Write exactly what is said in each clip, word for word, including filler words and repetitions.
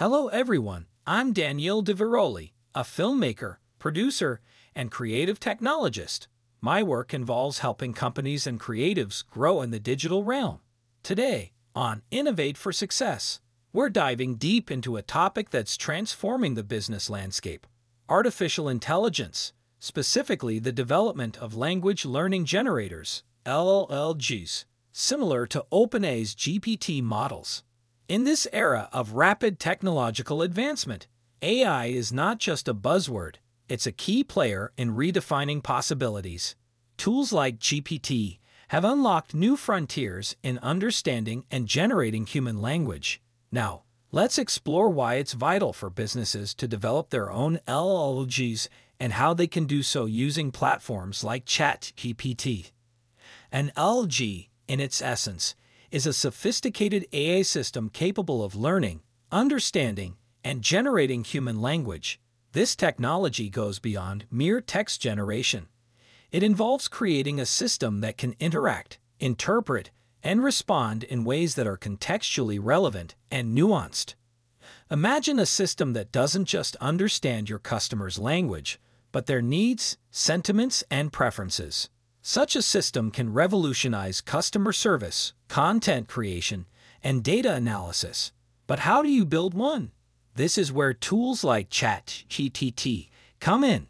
Hello, everyone. I'm Daniele De Veroli, a filmmaker, producer, and creative technologist. My work involves helping companies and creatives grow in the digital realm. Today, on Innovate for Success, we're diving deep into a topic that's transforming the business landscape: artificial intelligence, specifically the development of language learning generators, L L Gs, similar to OpenAI's G P T models. In this era of rapid technological advancement, A I is not just a buzzword, it's a key player in redefining possibilities. Tools like G P T have unlocked new frontiers in understanding and generating human language. Now, let's explore why it's vital for businesses to develop their own L L Gs and how they can do so using platforms like ChatGPT. An L L G, in its essence, is a sophisticated A I system capable of learning, understanding, and generating human language. This technology goes beyond mere text generation. It involves creating a system that can interact, interpret, and respond in ways that are contextually relevant and nuanced. Imagine a system that doesn't just understand your customer's language, but their needs, sentiments, and preferences. Such a system can revolutionize customer service, content creation, and data analysis. But how do you build one? This is where tools like ChatGPT come in.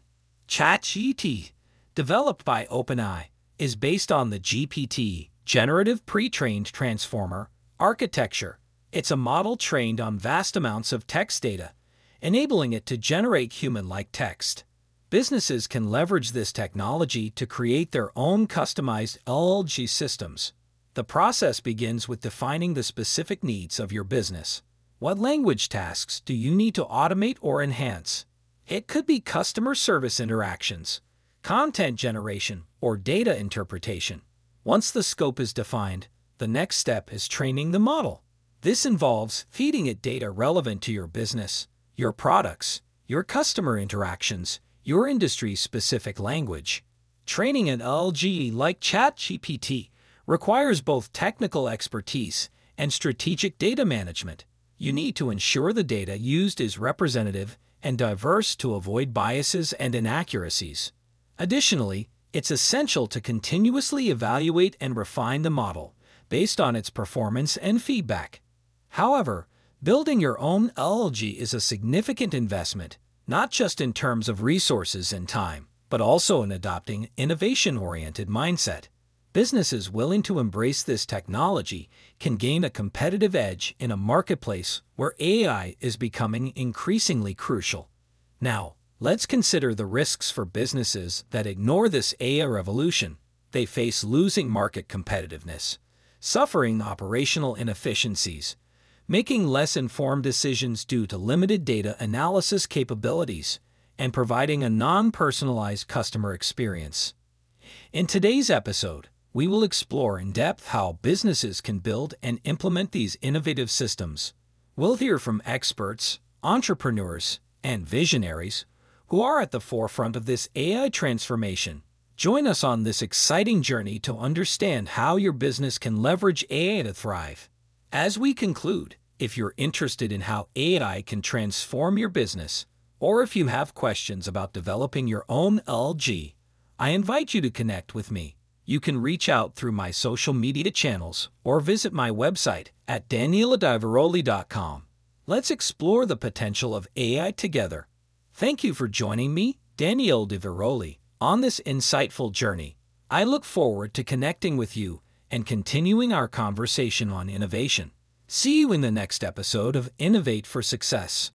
ChatGPT, developed by OpenAI, is based on the G P T, Generative Pre-trained Transformer, architecture. It's a model trained on vast amounts of text data, enabling it to generate human-like text. Businesses can leverage this technology to create their own customized L L G systems. The process begins with defining the specific needs of your business. What language tasks do you need to automate or enhance? It could be customer service interactions, content generation, or data interpretation. Once the scope is defined, the next step is training the model. This involves feeding it data relevant to your business, your products, your customer interactions, your industry-specific language. Training an L L G like ChatGPT requires both technical expertise and strategic data management. You need to ensure the data used is representative and diverse to avoid biases and inaccuracies. Additionally, it's essential to continuously evaluate and refine the model based on its performance and feedback. However, building your own L L G is a significant investment, not just in terms of resources and time, but also in adopting an innovation-oriented mindset. Businesses willing to embrace this technology can gain a competitive edge in a marketplace where A I is becoming increasingly crucial. Now, let's consider the risks for businesses that ignore this A I revolution. They face losing market competitiveness, suffering operational inefficiencies, making less informed decisions due to limited data analysis capabilities, and providing a non-personalized customer experience. In today's episode, we will explore in depth how businesses can build and implement these innovative systems. We'll hear from experts, entrepreneurs, and visionaries who are at the forefront of this A I transformation. Join us on this exciting journey to understand how your business can leverage A I to thrive. As we conclude, if you're interested in how A I can transform your business, or if you have questions about developing your own L L G, I invite you to connect with me. You can reach out through my social media channels or visit my website at daniele di veroli dot com. Let's explore the potential of A I together. Thank you for joining me, Daniele De Veroli, on this insightful journey. I look forward to connecting with you and continuing our conversation on innovation. See you in the next episode of Innovate for Success.